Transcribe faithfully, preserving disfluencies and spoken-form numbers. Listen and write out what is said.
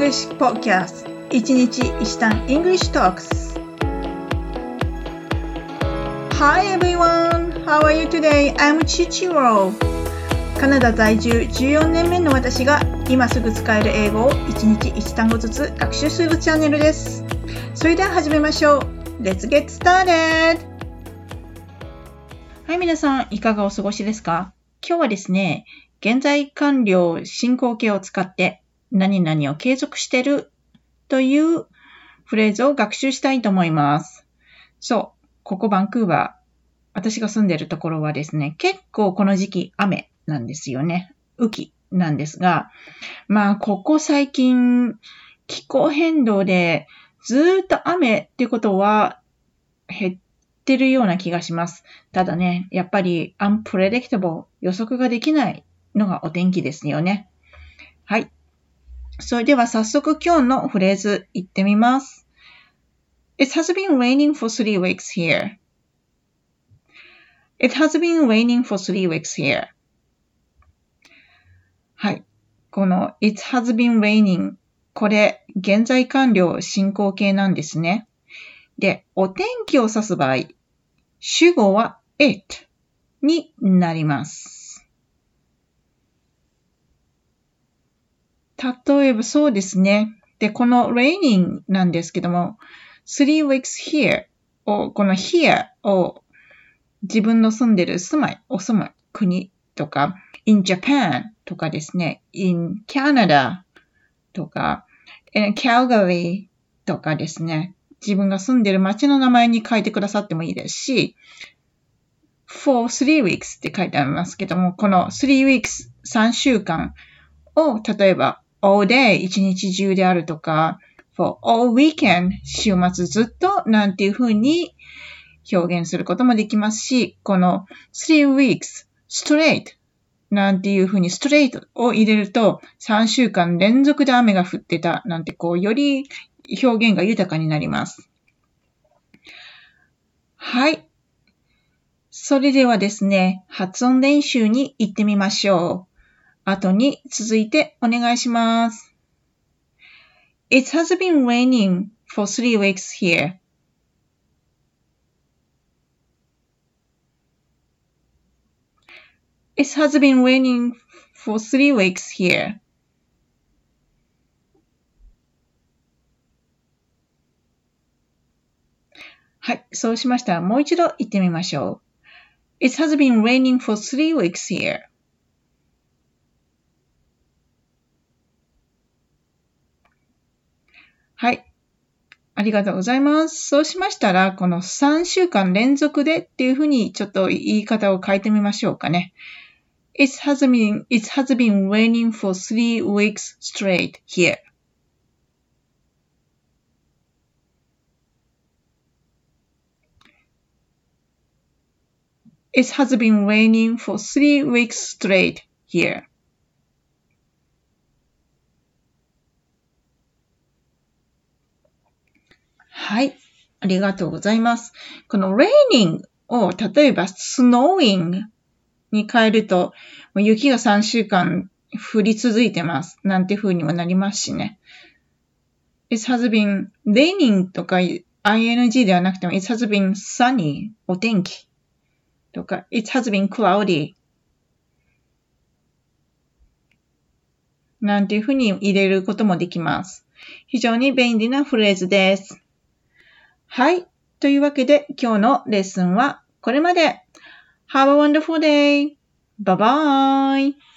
English Podcast 一日一単 English Talks Hi everyone! How are you today? I'm Chichiro カナダ在住じゅうよねんめの私が今すぐ使える英語を一日一単語ずつ学習するチャンネルです。それでは始めましょう。Let's get started! はい、皆さんいかがお過ごしですか？今日はですね、現在完了進行形を使って何々を継続してるというフレーズを学習したいと思います。そう、ここバンクーバー、私が住んでるところはですね、結構この時期雨なんですよね。雨季なんですが、まあここ最近気候変動でずーっと雨っていうことは減ってるような気がします。ただね、やっぱり unpredictable 予測ができないのがお天気ですよね。はい。それでは早速今日のフレーズ言ってみます。It has been raining for three weeks here. It has been raining for three weeks here. はい。この It has been raining これ現在完了進行形なんですね。で、お天気を指す場合、主語は it になります。例えばそうですね。で、この raining なんですけども、three weeks here を、この here を自分の住んでる住まい、お住まい、国とか、in Japan とかですね、in Canada とか、in Calgary とかですね、自分が住んでる町の名前に書いてくださってもいいですし、for three weeks って書いてありますけども、このthree weeks、さんしゅうかんを、例えば、all day 一日中であるとか for all weekend 週末ずっとなんていう風に表現することもできますし、この three weeks straight なんていう風に straight を入れるとさんしゅうかん連続で雨が降ってたなんてこうより表現が豊かになります。はい。それではですね、発音練習に行ってみましょう。後に続いてお願いします。It has been raining for three weeks here. It has been raining for three weeks here. はい、そうしましたらもう一度言ってみましょう。It has been raining for three weeks here. はい。ありがとうございます。そうしましたら、このさんしゅうかん連続でっていうふうにちょっと言い方を変えてみましょうかね。It has been, it has been raining for three weeks straight here. It has been raining for three weeks straight here. はい。ありがとうございます。この raining を例えば snowing に変えると、雪がさんしゅうかん降り続いてます。なんて風にもなりますしね。It has been raining とか ing ではなくても It has been sunny お天気とか It has been cloudy なんていう風に入れることもできます。非常に便利なフレーズです。はい。というわけで今日のレッスンはこれまで。Have a wonderful day! Bye bye!